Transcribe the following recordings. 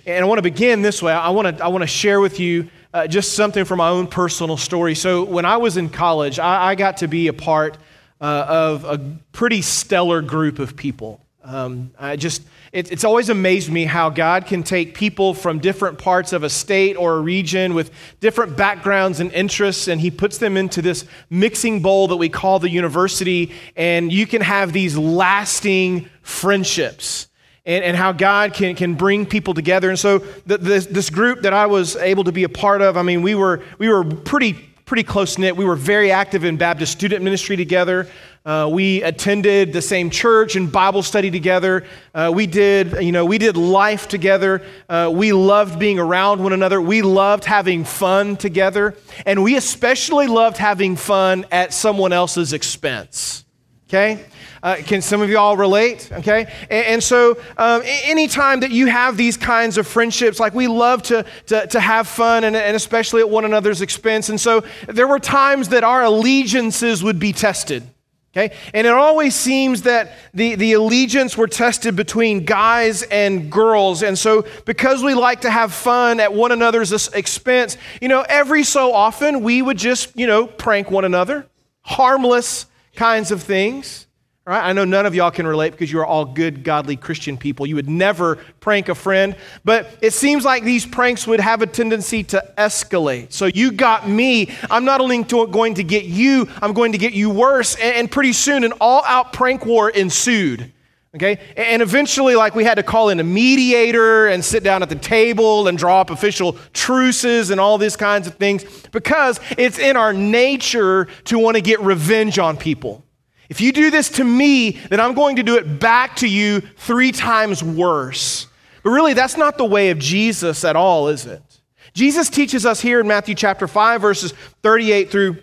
And I want to begin this way. I want to share with you just something from my own personal story. So when I was in college, I got to be a part of a pretty stellar group of people. It's always amazed me how God can take people from different parts of a state or a region with different backgrounds and interests, and He puts them into this mixing bowl that we call the university, and you can have these lasting friendships, and how God can bring people together. And so this group that I was able to be a part of, I mean, we were pretty close-knit. We were very active in Baptist student ministry together. We attended the same church and Bible study together. We did life together. We loved being around one another. We loved having fun together. And we especially loved having fun at someone else's expense. Okay? Can some of you all relate? Okay? And so anytime that you have these kinds of friendships, like we love to have fun and especially at one another's expense. And so there were times that our allegiances would be tested. Okay? And it always seems that the allegiance were tested between guys and girls. And so because we like to have fun at one another's expense, every so often we would just, prank one another. Harmless kinds of things. Right? I know none of y'all can relate because you are all good, godly Christian people. You would never prank a friend. But it seems like these pranks would have a tendency to escalate. So you got me. I'm not only going to get you, I'm going to get you worse. And pretty soon an all-out prank war ensued. Okay? And eventually, we had to call in a mediator and sit down at the table and draw up official truces and all these kinds of things because it's in our nature to want to get revenge on people. If you do this to me, then I'm going to do it back to you 3 times worse. But really, that's not the way of Jesus at all, is it? Jesus teaches us here in Matthew chapter 5, verses 38 through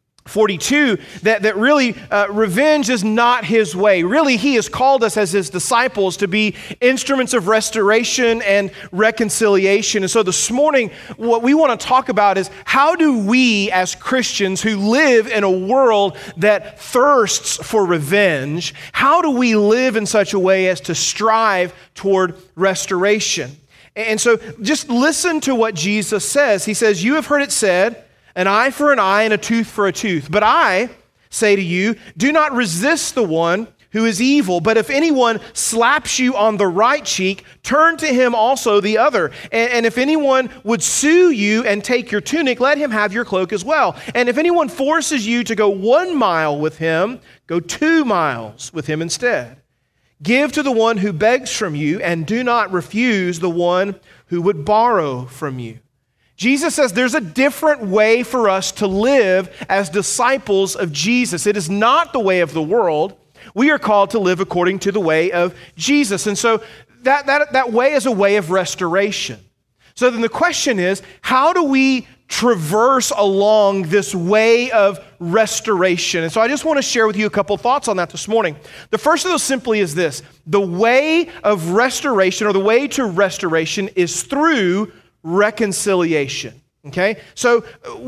42, that really revenge is not His way. Really, He has called us as His disciples to be instruments of restoration and reconciliation. And so this morning, what we want to talk about is how do we as Christians who live in a world that thirsts for revenge, how do we live in such a way as to strive toward restoration? And so just listen to what Jesus says. He says, "You have heard it said, an eye for an eye and a tooth for a tooth. But I say to you, do not resist the one who is evil. But if anyone slaps you on the right cheek, turn to him also the other. And if anyone would sue you and take your tunic, let him have your cloak as well. And if anyone forces you to go 1 mile with him, go 2 miles with him instead. Give to the one who begs from you, and do not refuse the one who would borrow from you." Jesus says there's a different way for us to live as disciples of Jesus. It is not the way of the world. We are called to live according to the way of Jesus. And so that way is a way of restoration. So then the question is, how do we traverse along this way of restoration? And so I just want to share with you a couple thoughts on that this morning. The first of those simply is this: the way of restoration, or the way to restoration, is through reconciliation. Okay? So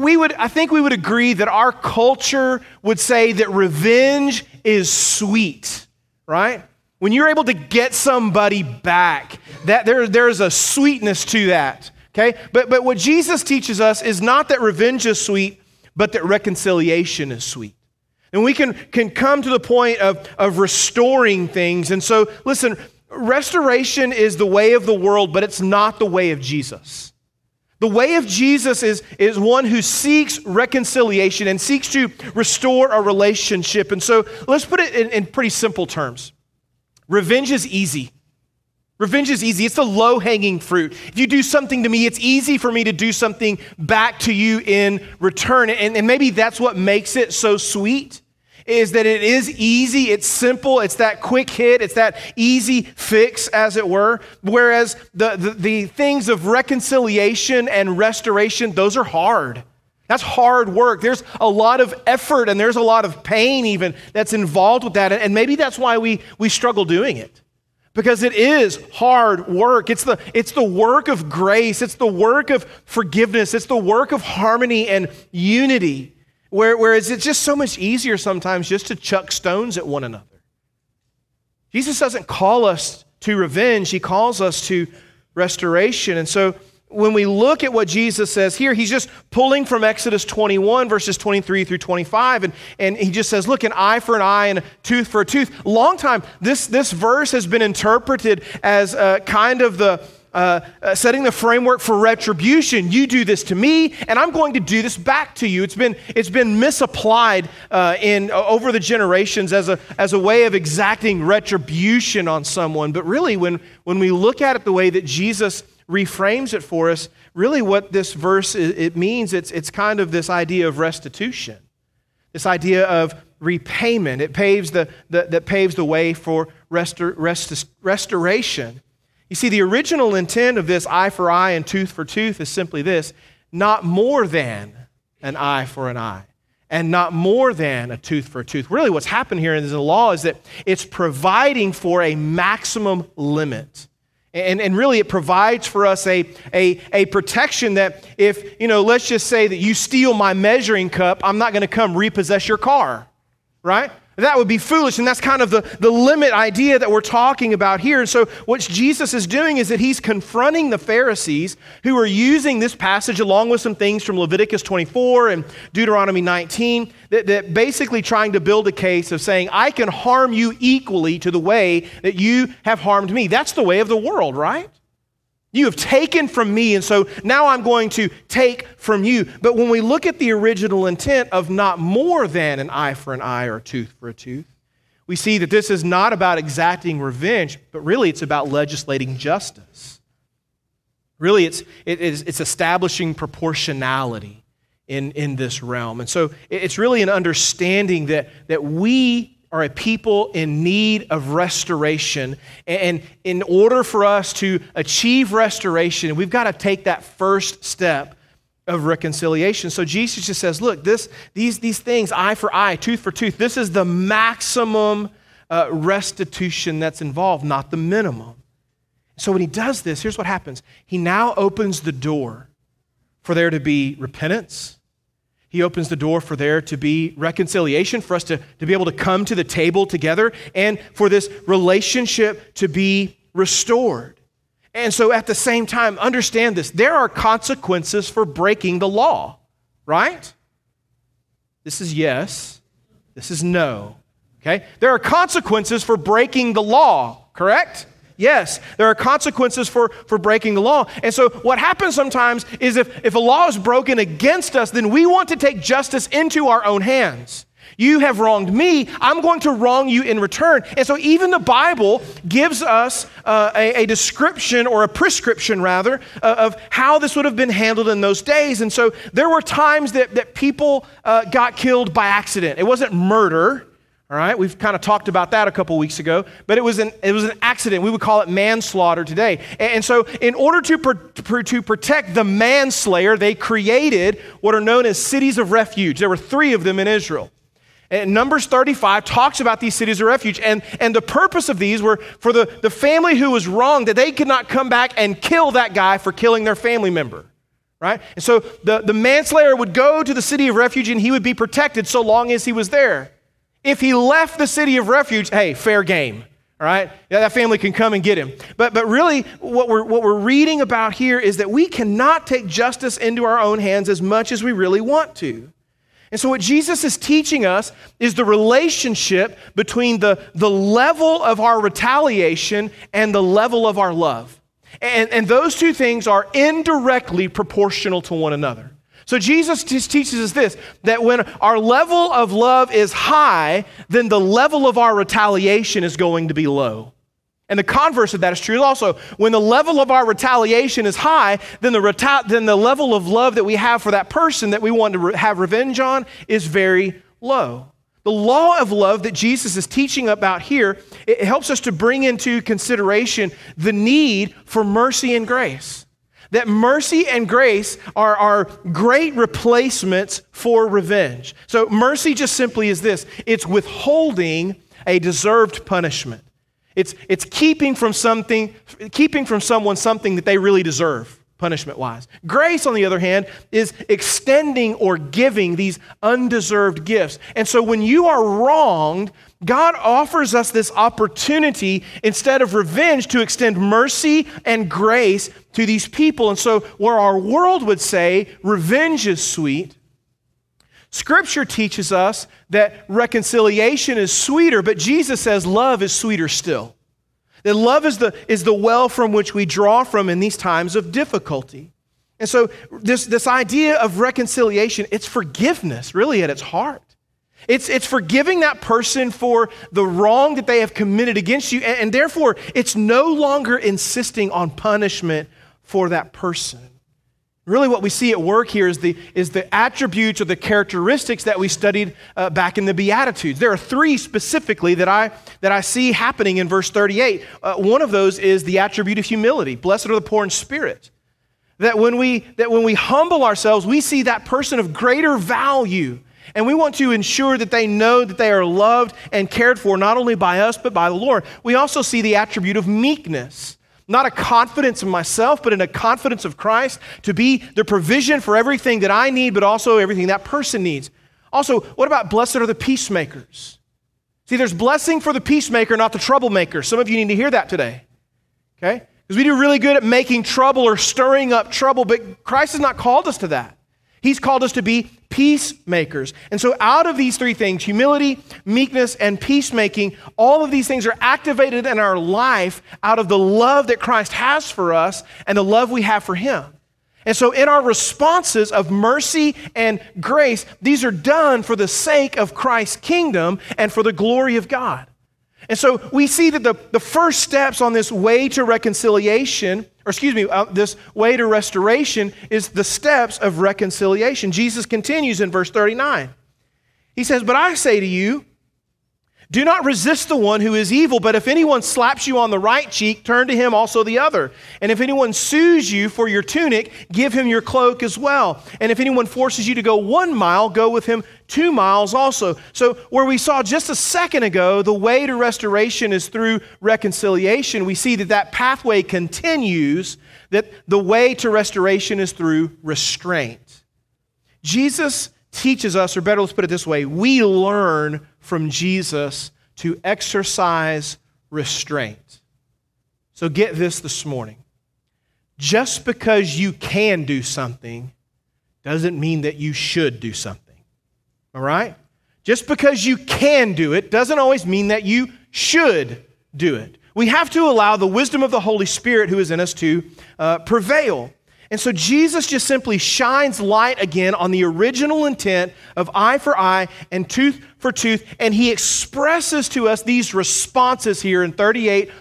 I think we would agree that our culture would say that revenge is sweet, right? When you're able to get somebody back, that there's a sweetness to that. Okay? But what Jesus teaches us is not that revenge is sweet, but that reconciliation is sweet. And we can come to the point of restoring things. And so, listen, restoration is the way of the world, but it's not the way of Jesus. The way of Jesus is one who seeks reconciliation and seeks to restore a relationship. And so let's put it in pretty simple terms. Revenge is easy. Revenge is easy. It's the low-hanging fruit. If you do something to me, it's easy for me to do something back to you in return. And maybe that's what makes it so sweet, is that it is easy, it's simple, it's that quick hit, it's that easy fix, as it were. Whereas the things of reconciliation and restoration, those are hard. That's hard work. There's a lot of effort and there's a lot of pain even that's involved with that. And maybe that's why we struggle doing it. Because it is hard work. It's the work of grace. It's the work of forgiveness. It's the work of harmony and unity. Whereas it's just so much easier sometimes just to chuck stones at one another. Jesus doesn't call us to revenge. He calls us to restoration. And so when we look at what Jesus says here, he's just pulling from Exodus 21, verses 23 through 25, and he just says, look, an eye for an eye and a tooth for a tooth. Long time, this verse has been interpreted as kind of the setting the framework for retribution. You do this to me, and I'm going to do this back to you. It's been misapplied over the generations as a way of exacting retribution on someone. But really, when we look at it the way that Jesus reframes it for us, really what this verse it means, it's kind of this idea of restitution, this idea of repayment. It paves the way for restoration. You see, the original intent of this eye for eye and tooth for tooth is simply this: not more than an eye for an eye, and not more than a tooth for a tooth. Really what's happened here in the law is that it's providing for a maximum limit. And really it provides for us a protection that if, let's just say that you steal my measuring cup, I'm not going to come repossess your car, right? That would be foolish, and that's kind of the limit idea that we're talking about here. And so what Jesus is doing is that he's confronting the Pharisees who are using this passage along with some things from Leviticus 24 and Deuteronomy 19 that basically trying to build a case of saying, I can harm you equally to the way that you have harmed me. That's the way of the world, right? You have taken from me, and so now I'm going to take from you. But when we look at the original intent of not more than an eye for an eye or a tooth for a tooth, we see that this is not about exacting revenge, but really it's about legislating justice. Really, it's establishing proportionality in this realm. And so it's really an understanding that we are a people in need of restoration. And in order for us to achieve restoration, we've got to take that first step of reconciliation. So Jesus just says, look, these things, eye for eye, tooth for tooth, this is the maximum restitution that's involved, not the minimum. So when he does this, here's what happens. He now opens the door for there to be repentance. He opens the door for there to be reconciliation, for us to be able to come to the table together, and for this relationship to be restored. And so at the same time, understand this, there are consequences for breaking the law, right? This is yes, this is no, okay? There are consequences for breaking the law, correct? Yes, there are consequences for breaking the law. And so what happens sometimes is if a law is broken against us, then we want to take justice into our own hands. You have wronged me, I'm going to wrong you in return. And so even the Bible gives us a description, or a prescription rather, of how this would have been handled in those days. And so there were times that people got killed by accident. It wasn't murder. All right, we've kind of talked about that a couple weeks ago, but it was an accident. We would call it manslaughter today. And so in order to protect the manslayer, they created what are known as cities of refuge. There were 3 of them in Israel. And Numbers 35 talks about these cities of refuge. And the purpose of these were for the family who was wronged, that they could not come back and kill that guy for killing their family member. Right? And so the manslayer would go to the city of refuge and he would be protected so long as he was there. If he left the city of refuge, hey, fair game, all right? Yeah, that family can come and get him. But really, what we're reading about here is that we cannot take justice into our own hands as much as we really want to. And so what Jesus is teaching us is the relationship between the level of our retaliation and the level of our love. And those two things are indirectly proportional to one another. So Jesus just teaches us this, that when our level of love is high, then the level of our retaliation is going to be low. And the converse of that is true also. When the level of our retaliation is high, then the level of love that we have for that person that we want to have revenge on is very low. The law of love that Jesus is teaching about here, it helps us to bring into consideration the need for mercy and grace. That mercy and grace are great replacements for revenge. So mercy just simply is this. It's withholding a deserved punishment. It's keeping from someone something that they really deserve. punishment-wise. Grace, on the other hand, is extending or giving these undeserved gifts. And so when you are wronged, God offers us this opportunity, instead of revenge, to extend mercy and grace to these people. And so where our world would say revenge is sweet, Scripture teaches us that reconciliation is sweeter, but Jesus says love is sweeter still. That love is the well from which we draw from in these times of difficulty. And so this idea of reconciliation, it's forgiveness really at its heart. It's forgiving that person for the wrong that they have committed against you, and therefore it's no longer insisting on punishment for that person. Really what we see at work here is the attributes or the characteristics that we studied back in the Beatitudes. There are three specifically that I see happening in verse 38. One of those is the attribute of humility. Blessed are the poor in spirit. That when we humble ourselves, we see that person of greater value. And we want to ensure that they know that they are loved and cared for, not only by us, but by the Lord. We also see the attribute of meekness. Not a confidence in myself, but in a confidence of Christ to be the provision for everything that I need, but also everything that person needs. Also, what about blessed are the peacemakers? See, there's blessing for the peacemaker, not the troublemaker. Some of you need to hear that today, okay? Because we do really good at making trouble or stirring up trouble, but Christ has not called us to that. He's called us to be peacemakers. And so out of these three things, humility, meekness, and peacemaking, all of these things are activated in our life out of the love that Christ has for us and the love we have for Him. And so in our responses of mercy and grace, these are done for the sake of Christ's kingdom and for the glory of God. And so we see that the first steps on this way to reconciliation, this way to restoration is the steps of reconciliation. Jesus continues in verse 39. He says, "But I say to you, do not resist the one who is evil, but if anyone slaps you on the right cheek, turn to him also the other. And if anyone sues you for your tunic, give him your cloak as well. And if anyone forces you to go 1 mile, go with him 2 miles also." So where we saw just a second ago, the way to restoration is through reconciliation, we see that pathway continues, that the way to restoration is through restraint. Jesus teaches us, or better, let's put it this way, we learn from Jesus to exercise restraint. So get this morning. Just because you can do something doesn't mean that you should do something. All right? Just because you can do it doesn't always mean that you should do it. We have to allow the wisdom of the Holy Spirit who is in us to prevail. And so Jesus just simply shines light again on the original intent of eye for eye and tooth for tooth, and He expresses to us these responses here in 39,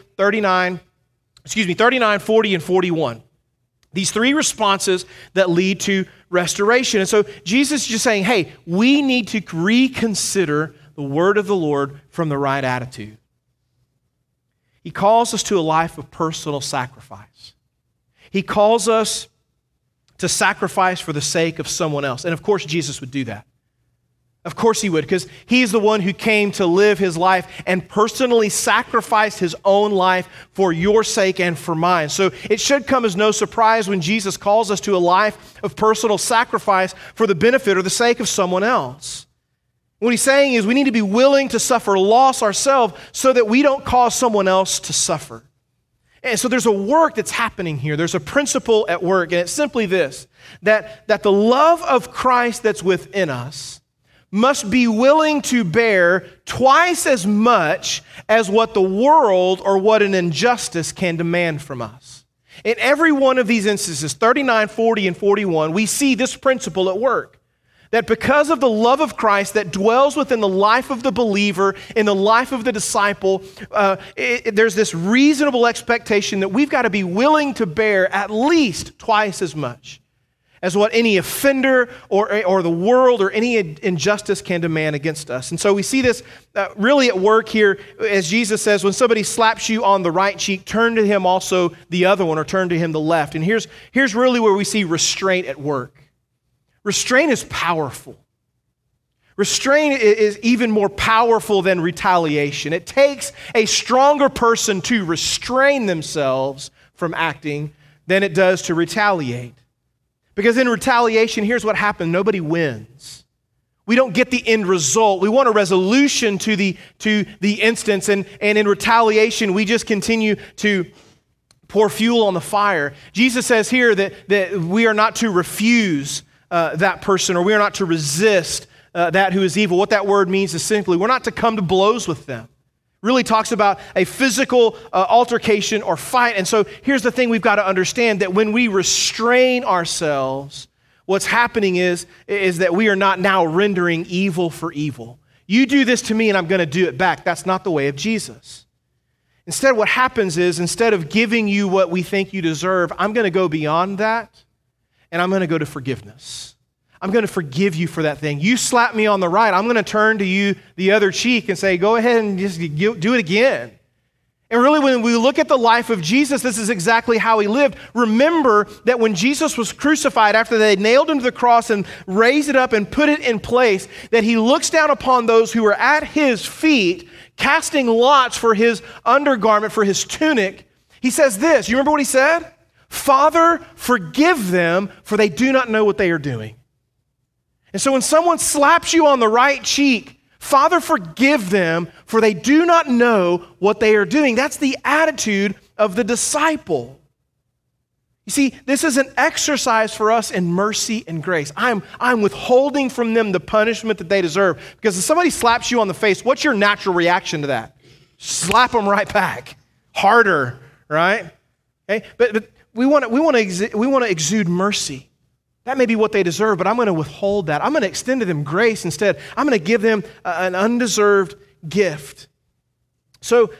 40, and 41. These three responses that lead to restoration. And so Jesus is just saying, hey, we need to reconsider the word of the Lord from the right attitude. He calls us to a life of personal sacrifice. He calls us to sacrifice for the sake of someone else. And of course, Jesus would do that. Of course He would, because He's the one who came to live His life and personally sacrificed His own life for your sake and for mine. So it should come as no surprise when Jesus calls us to a life of personal sacrifice for the benefit or the sake of someone else. What He's saying is we need to be willing to suffer loss ourselves so that we don't cause someone else to suffer. And so there's a work that's happening here. There's a principle at work, and it's simply this, that the love of Christ that's within us must be willing to bear twice as much as what the world or what an injustice can demand from us. In every one of these instances, 39, 40, and 41, we see this principle at work. That because of the love of Christ that dwells within the life of the believer, in the life of the disciple, there's this reasonable expectation that we've got to be willing to bear at least twice as much as what any offender or the world or any injustice can demand against us. And so we see this really at work here as Jesus says, when somebody slaps you on the right cheek, turn to him also the other one, or turn to him the left. And here's really where we see restraint at work. Restraint is powerful. Restraint is even more powerful than retaliation. It takes a stronger person to restrain themselves from acting than it does to retaliate. Because in retaliation, here's what happened. Nobody wins. We don't get the end result. We want a resolution to the instance, and in retaliation, we just continue to pour fuel on the fire. Jesus says here that we are not to refuse that person, or we are not to resist that who is evil. What that word means is simply, we're not to come to blows with them. Really talks about a physical altercation or fight. And so here's the thing we've got to understand, that when we restrain ourselves, what's happening is that we are not now rendering evil for evil. You do this to me and I'm going to do it back. That's not the way of Jesus. Instead, what happens is, instead of giving you what we think you deserve, I'm going to go beyond that, and I'm going to go to forgiveness. I'm going to forgive you for that thing. You slap me on the right, I'm going to turn to you the other cheek and say, go ahead and just do it again. And really, when we look at the life of Jesus, this is exactly how he lived. Remember that when Jesus was crucified, after they nailed him to the cross and raised it up and put it in place, that he looks down upon those who were at his feet, casting lots for his undergarment, for his tunic. He says this, you remember what he said? Father, forgive them, for they do not know what they are doing. And so when someone slaps you on the right cheek, Father, forgive them, for they do not know what they are doing. That's the attitude of the disciple. You see, this is an exercise for us in mercy and grace. I'm withholding from them the punishment that they deserve. Because if somebody slaps you on the face, what's your natural reaction to that? Slap them right back. Harder, right? Okay? But we want to exude mercy. That may be what they deserve, but I'm going to withhold that. I'm going to extend to them grace instead. I'm going to give them an undeserved gift. So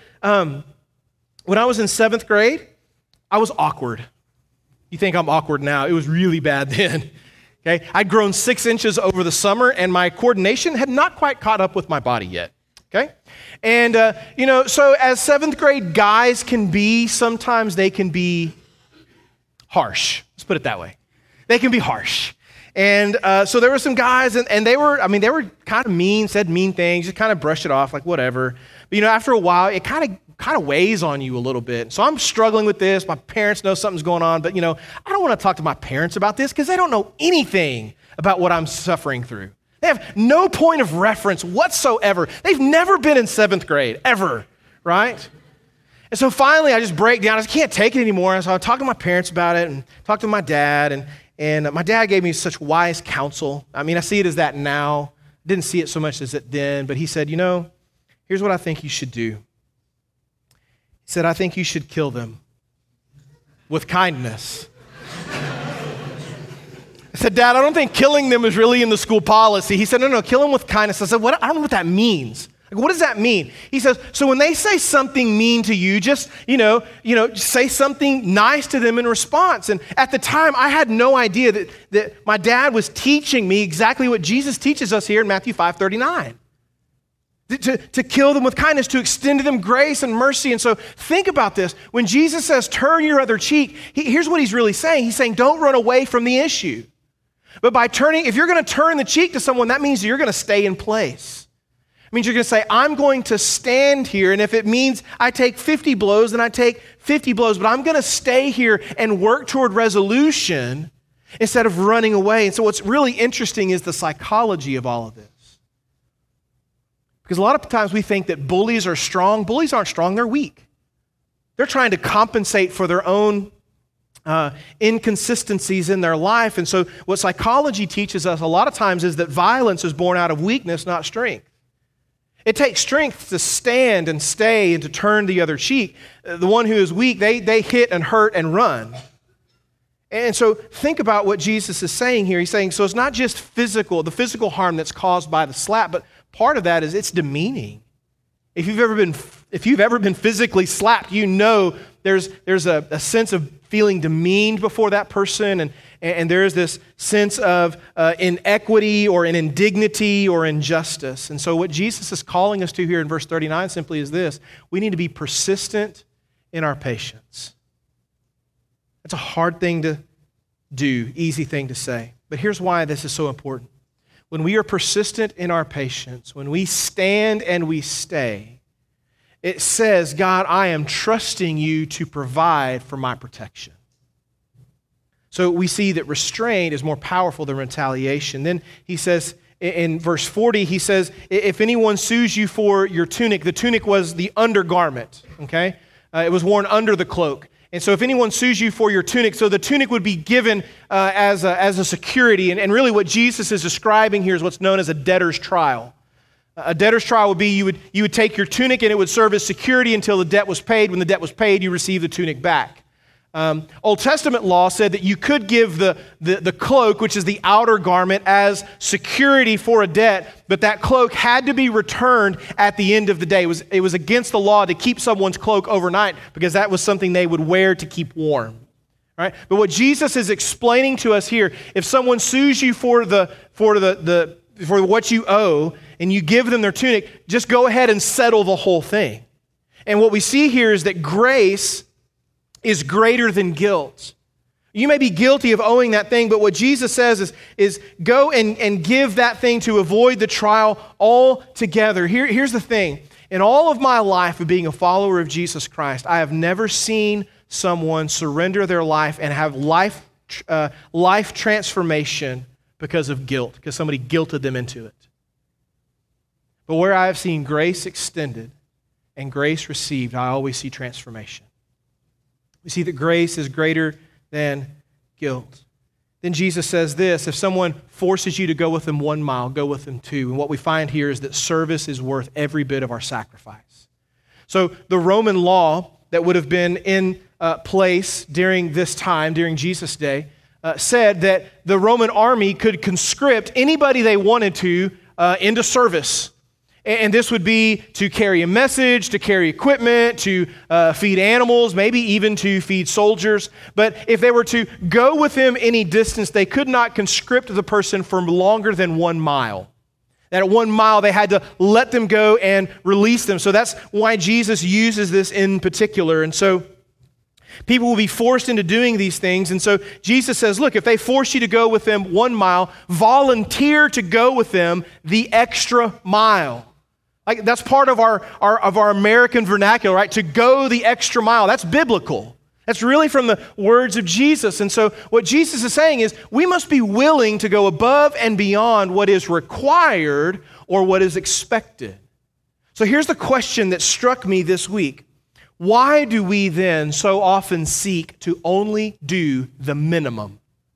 when I was in 7th grade, I was awkward. You think I'm awkward now. It was really bad then. Okay? I'd grown 6 inches over the summer, and my coordination had not quite caught up with my body yet. Okay? And, so as 7th grade guys can be, sometimes they can be harsh. Let's put it that way. They can be harsh. And so there were some guys, and they were kind of mean, said mean things, just kind of brushed it off like whatever. But after a while, it kind of weighs on you a little bit. So I'm struggling with this. My parents know something's going on, but I don't want to talk to my parents about this because they don't know anything about what I'm suffering through. They have no point of reference whatsoever. They've never been in 7th grade, ever, right? And so finally, I just break down. I just can't take it anymore. And so I talk to my parents about it and talk to my dad, and my dad gave me such wise counsel. I mean, I see it as that now. Didn't see it so much as it then, but he said, here's what I think you should do. He said, I think you should kill them with kindness. I said, Dad, I don't think killing them is really in the school policy. He said, no, kill them with kindness. I said, what? I don't know what that means. Like, what does that mean? He says, so when they say something mean to you, just say something nice to them in response. And at the time, I had no idea that my dad was teaching me exactly what Jesus teaches us here in Matthew 5:39. To kill them with kindness, to extend to them grace and mercy. And so think about this. When Jesus says, turn your other cheek, here's what he's really saying. He's saying, don't run away from the issue. But if you're going to turn the cheek to someone, that means you're going to stay in place. It means you're going to say, I'm going to stand here, and if it means I take 50 blows, then I take 50 blows, but I'm going to stay here and work toward resolution instead of running away. And so what's really interesting is the psychology of all of this. Because a lot of times we think that bullies are strong. Bullies aren't strong, they're weak. They're trying to compensate for their own inconsistencies in their life. And so what psychology teaches us a lot of times is that violence is born out of weakness, not strength. It takes strength to stand and stay and to turn the other cheek. The one who is weak, they hit and hurt and run. And so think about what Jesus is saying here. He's saying, so it's not just the physical harm that's caused by the slap, but part of that is it's demeaning. If you've ever been physically slapped, there's a sense of feeling demeaned before that person, and there is this sense of inequity or an indignity or injustice. And so what Jesus is calling us to here in verse 39 simply is this: we need to be persistent in our patience. It's a hard thing to do, easy thing to say. But here's why this is so important. When we are persistent in our patience, when we stand and we stay, it says, God, I am trusting you to provide for my protection. So we see that restraint is more powerful than retaliation. Then he says in verse 40, he says, if anyone sues you for your tunic, the tunic was the undergarment, okay? It was worn under the cloak. And so if anyone sues you for your tunic, so the tunic would be given as a security. And really what Jesus is describing here is what's known as a debtor's trial. A debtor's trial would be you would take your tunic and it would serve as security until the debt was paid. When the debt was paid, you receive the tunic back. Old Testament law said that you could give the cloak, which is the outer garment, as security for a debt, but that cloak had to be returned at the end of the day. It was against the law to keep someone's cloak overnight because that was something they would wear to keep warm. Right? But what Jesus is explaining to us here, if someone sues you for what you owe and you give them their tunic, just go ahead and settle the whole thing. And what we see here is that grace is greater than guilt. You may be guilty of owing that thing, but what Jesus says is go and give that thing to avoid the trial altogether. Here's the thing. In all of my life of being a follower of Jesus Christ, I have never seen someone surrender their life and have life transformation because of guilt, because somebody guilted them into it. But where I have seen grace extended and grace received, I always see transformation. We see that grace is greater than guilt. Then Jesus says this, if someone forces you to go with them 1 mile, go with them 2. And what we find here is that service is worth every bit of our sacrifice. So the Roman law that would have been in place during this time, during Jesus' day, said that the Roman army could conscript anybody they wanted to into service. And this would be to carry a message, to carry equipment, to feed animals, maybe even to feed soldiers. But if they were to go with him any distance, they could not conscript the person for longer than 1 mile. That at 1 mile, they had to let them go and release them. So that's why Jesus uses this in particular. And so people will be forced into doing these things. And so Jesus says, look, if they force you to go with them 1 mile, volunteer to go with them the extra mile. Like that's part of our American vernacular, right? To go the extra mile. That's biblical. That's really from the words of Jesus. And so what Jesus is saying is we must be willing to go above and beyond what is required or what is expected. So here's the question that struck me this week. Why do we then so often seek to only do the minimum?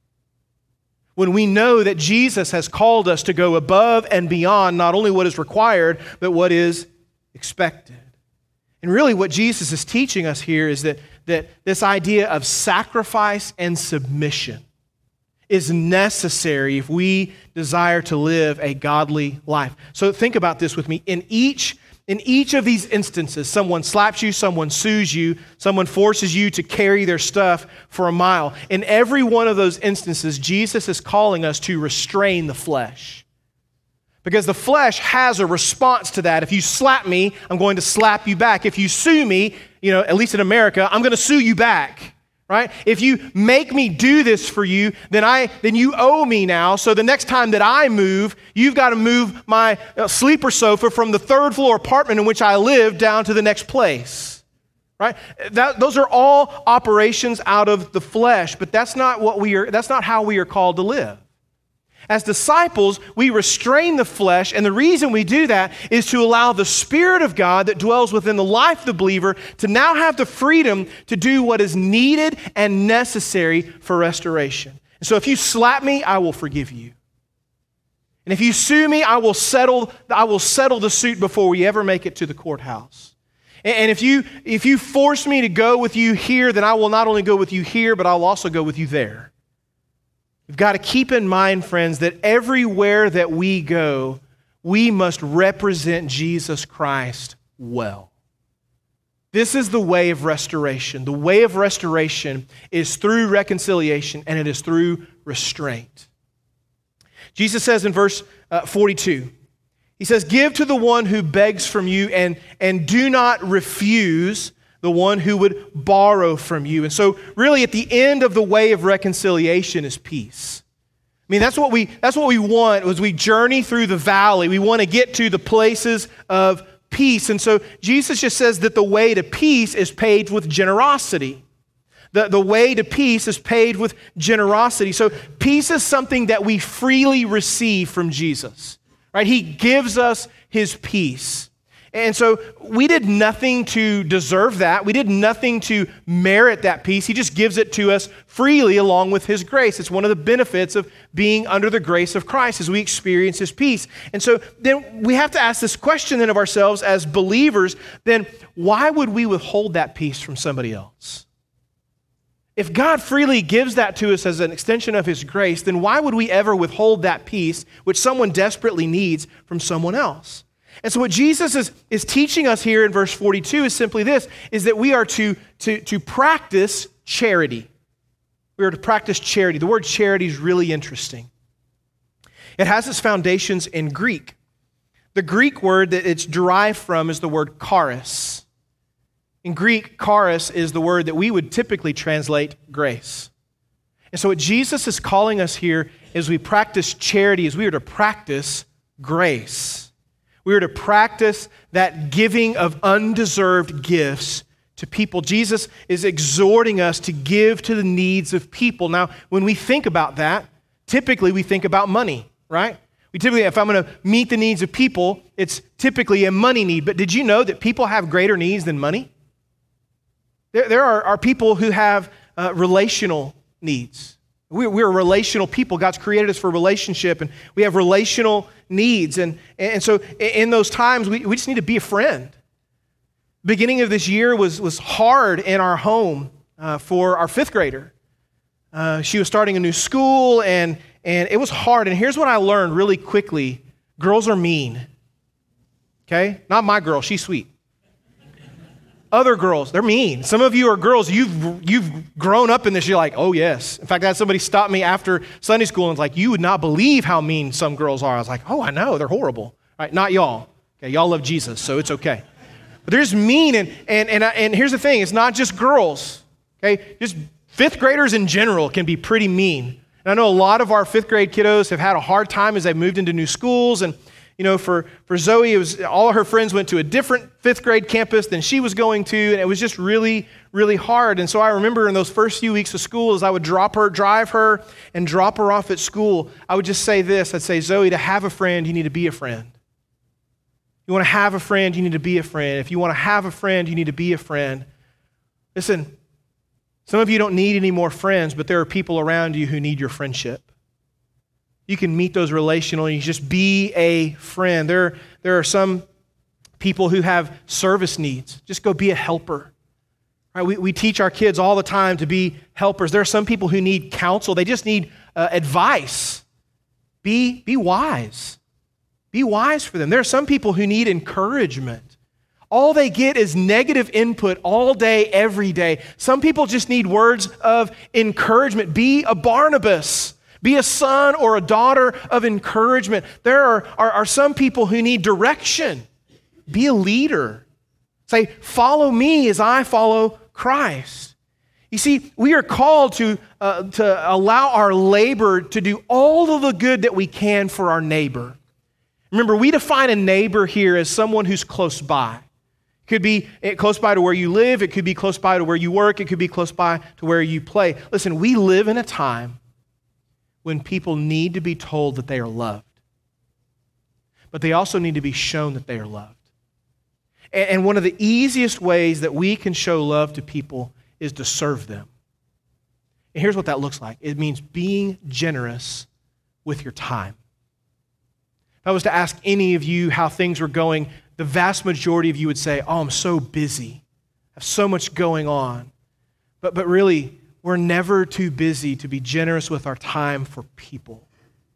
When we know that Jesus has called us to go above and beyond not only what is required, but what is expected. And really what Jesus is teaching us here is that this idea of sacrifice and submission is necessary if we desire to live a godly life. So think about this with me. In each of these instances, someone slaps you, someone sues you, someone forces you to carry their stuff for 1 mile. In every one of those instances, Jesus is calling us to restrain the flesh. Because the flesh has a response to that. If you slap me, I'm going to slap you back. If you sue me, at least in America, I'm going to sue you back. Right? If you make me do this for you, then you owe me now. So the next time that I move, you've got to move my sleeper sofa from the 3rd floor apartment in which I live down to the next place. Right? Those are all operations out of the flesh, but that's not how we are called to live. As disciples, we restrain the flesh, and the reason we do that is to allow the Spirit of God that dwells within the life of the believer to now have the freedom to do what is needed and necessary for restoration. And so if you slap me, I will forgive you. And if you sue me, I will settle the suit before we ever make it to the courthouse. And if you force me to go with you here, then I will not only go with you here, but I'll also go with you there. We've got to keep in mind, friends, that everywhere that we go, we must represent Jesus Christ well. This is the way of restoration. The way of restoration is through reconciliation, and it is through restraint. Jesus says in verse 42, he says, give to the one who begs from you, and do not refuse the one who would borrow from you. And so really at the end of the way of reconciliation is peace. I mean, that's what we want as we journey through the valley. We want to get to the places of peace. And so Jesus just says that the way to peace is paved with generosity. The way to peace is paved with generosity. So peace is something that we freely receive from Jesus, right? He gives us his peace. And so we did nothing to deserve that. We did nothing to merit that peace. He just gives it to us freely along with his grace. It's one of the benefits of being under the grace of Christ as we experience his peace. And so then we have to ask this question then of ourselves as believers, then why would we withhold that peace from somebody else? If God freely gives that to us as an extension of his grace, then why would we ever withhold that peace which someone desperately needs from someone else? And so what Jesus is teaching us here in verse 42 is simply this, is that we are to practice charity. We are to practice charity. The word charity is really interesting. It has its foundations in Greek. The Greek word that it's derived from is the word charis. In Greek, charis is the word that we would typically translate grace. And so what Jesus is calling us here as we practice charity is we are to practice grace. We are to practice that giving of undeserved gifts to people. Jesus is exhorting us to give to the needs of people. Now, when we think about that, typically we think about money, right? We typically, if I'm going to meet the needs of people, it's typically a money need. But did you know that people have greater needs than money? There are people who have relational needs. We're relational people. God's created us for relationship, and we have relational needs. And so in those times, we just need to be a friend. Beginning of this year was hard in our home for our fifth grader. She was starting a new school, and it was hard. And here's what I learned really quickly. Girls are mean. Okay? Not my girl. She's sweet. Other girls, they're mean. Some of you are girls, you've grown up in this. You're like, oh, yes. In fact, I had somebody stop me after Sunday school and was like, you would not believe how mean some girls are. I was like, oh, I know. They're horrible. All right, not y'all. Okay, y'all love Jesus, so it's okay. But there's mean, and here's the thing. It's not just girls, okay? Just fifth graders in general can be pretty mean. And I know a lot of our fifth grade kiddos have had a hard time as they've moved into new schools. And you know, for Zoe, it was all of her friends went to a different fifth grade campus than she was going to, and it was just really, really hard. And so I remember in those first few weeks of school, as I would drive her, and drop her off at school, I would just say this. I'd say, Zoe, to have a friend, you need to be a friend. You want to have a friend, you need to be a friend. If you want to have a friend, you need to be a friend. Listen, some of you don't need any more friends, but there are people around you who need your friendship. You can meet those relationally. You just be a friend. There are some people who have service needs. Just go be a helper. Right? We teach our kids all the time to be helpers. There are some people who need counsel. They just need advice. Be wise. Be wise for them. There are some people who need encouragement. All they get is negative input all day, every day. Some people just need words of encouragement. Be a Barnabas. Be a son or a daughter of encouragement. There are some people who need direction. Be a leader. Say, follow me as I follow Christ. You see, we are called to allow our labor to do all of the good that we can for our neighbor. Remember, we define a neighbor here as someone who's close by. It could be close by to where you live. It could be close by to where you work. It could be close by to where you play. Listen, we live in a time when people need to be told that they are loved. But they also need to be shown that they are loved. And one of the easiest ways that we can show love to people is to serve them. And here's what that looks like. It means being generous with your time. If I was to ask any of you how things were going, the vast majority of you would say, oh, I'm so busy. I have so much going on. But really, we're never too busy to be generous with our time for people.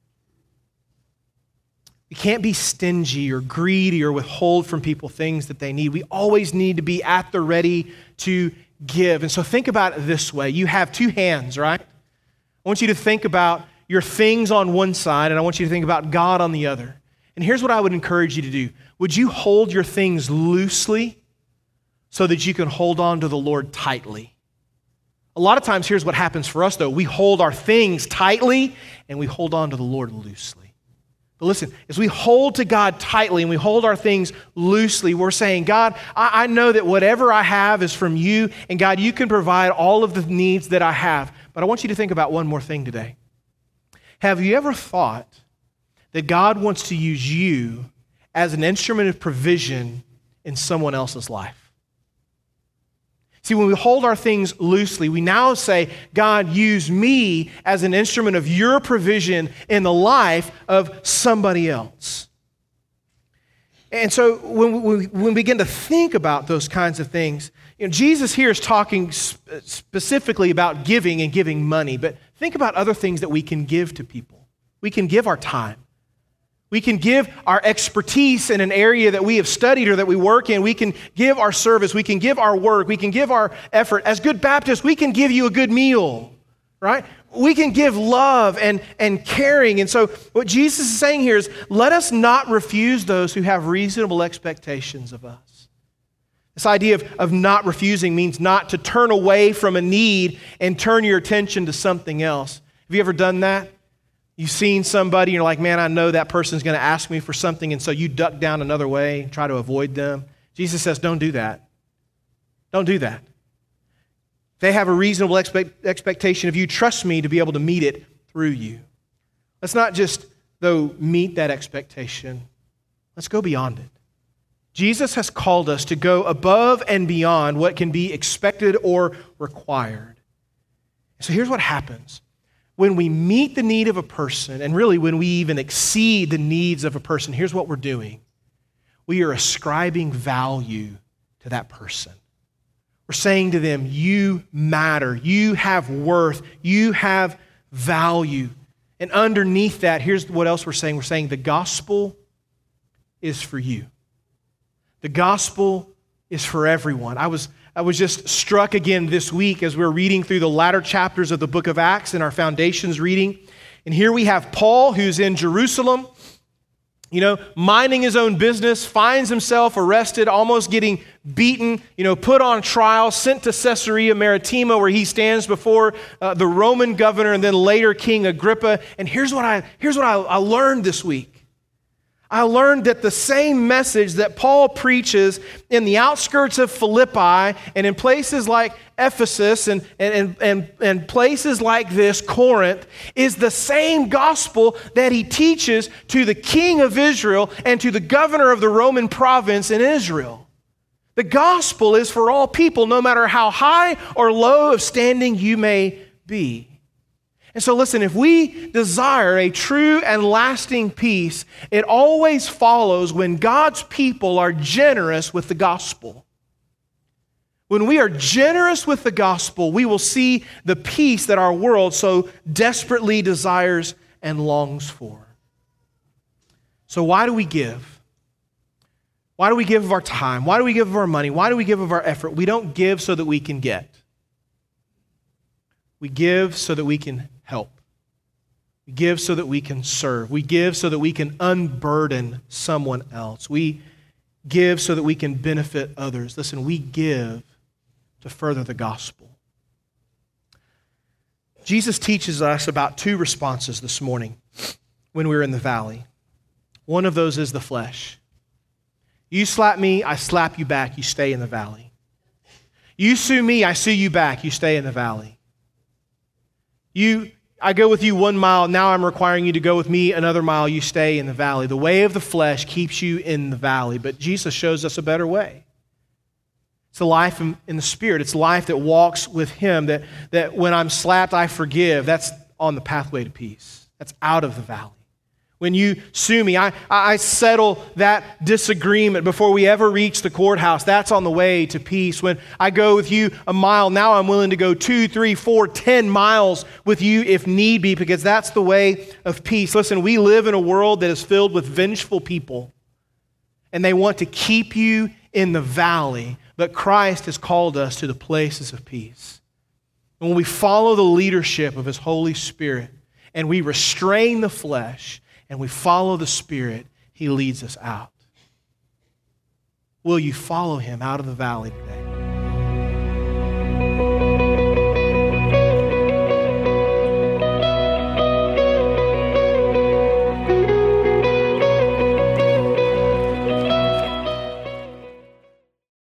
We can't be stingy or greedy or withhold from people things that they need. We always need to be at the ready to give. And so think about it this way. You have two hands, right? I want you to think about your things on one side, and I want you to think about God on the other. And here's what I would encourage you to do. Would you hold your things loosely so that you can hold on to the Lord tightly? A lot of times, here's what happens for us, though. We hold our things tightly, and we hold on to the Lord loosely. But listen, as we hold to God tightly and we hold our things loosely, we're saying, God, I know that whatever I have is from you, and God, you can provide all of the needs that I have. But I want you to think about one more thing today. Have you ever thought that God wants to use you as an instrument of provision in someone else's life? See, when we hold our things loosely, we now say, God, use me as an instrument of your provision in the life of somebody else. And so when we begin to think about those kinds of things, Jesus here is talking specifically about giving and giving money, but think about other things that we can give to people. We can give our time. We can give our expertise in an area that we have studied or that we work in. We can give our service. We can give our work. We can give our effort. As good Baptists, we can give you a good meal, right? We can give love and caring. And so what Jesus is saying here is, let us not refuse those who have reasonable expectations of us. This idea of not refusing means not to turn away from a need and turn your attention to something else. Have you ever done that? You've seen somebody, and you're like, man, I know that person's going to ask me for something, and so you duck down another way and try to avoid them. Jesus says, don't do that. Don't do that. They have a reasonable expectation of you. Trust me to be able to meet it through you. Let's not just, though, meet that expectation. Let's go beyond it. Jesus has called us to go above and beyond what can be expected or required. So here's what happens. When we meet the need of a person, and really when we even exceed the needs of a person, here's what we're doing. We are ascribing value to that person. We're saying to them, you matter, you have worth, you have value. And underneath that, here's what else we're saying. We're saying the gospel is for you. The gospel is for everyone. I was just struck again this week as we're reading through the latter chapters of the book of Acts in our Foundations reading. And here we have Paul, who's in Jerusalem, minding his own business, finds himself arrested, almost getting beaten, put on trial, sent to Caesarea Maritima, where he stands before the Roman governor and then later King Agrippa. And here's what I learned this week. I learned that the same message that Paul preaches in the outskirts of Philippi and in places like Ephesus and places like this, Corinth, is the same gospel that he teaches to the king of Israel and to the governor of the Roman province in Israel. The gospel is for all people, no matter how high or low of standing you may be. And so listen, if we desire a true and lasting peace, it always follows when God's people are generous with the gospel. When we are generous with the gospel, we will see the peace that our world so desperately desires and longs for. So why do we give? Why do we give of our time? Why do we give of our money? Why do we give of our effort? We don't give so that we can get. We give so that we can help. We give so that we can serve. We give so that we can unburden someone else. We give so that we can benefit others. Listen, we give to further the gospel. Jesus teaches us about two responses this morning when we're in the valley. One of those is the flesh. You slap me, I slap you back, you stay in the valley. You sue me, I sue you back, you stay in the valley. I go with you 1 mile, now I'm requiring you to go with me another mile, you stay in the valley. The way of the flesh keeps you in the valley, but Jesus shows us a better way. It's the life in the Spirit. It's life that walks with Him, that when I'm slapped, I forgive. That's on the pathway to peace. That's out of the valley. When you sue me, I settle that disagreement before we ever reach the courthouse. That's on the way to peace. When I go with you a mile, now I'm willing to go 2, 3, 4, 10 miles with you if need be, because that's the way of peace. Listen, we live in a world that is filled with vengeful people, and they want to keep you in the valley, but Christ has called us to the places of peace. And when we follow the leadership of His Holy Spirit, and we restrain the flesh, and we follow the Spirit, He leads us out. Will you follow Him out of the valley today?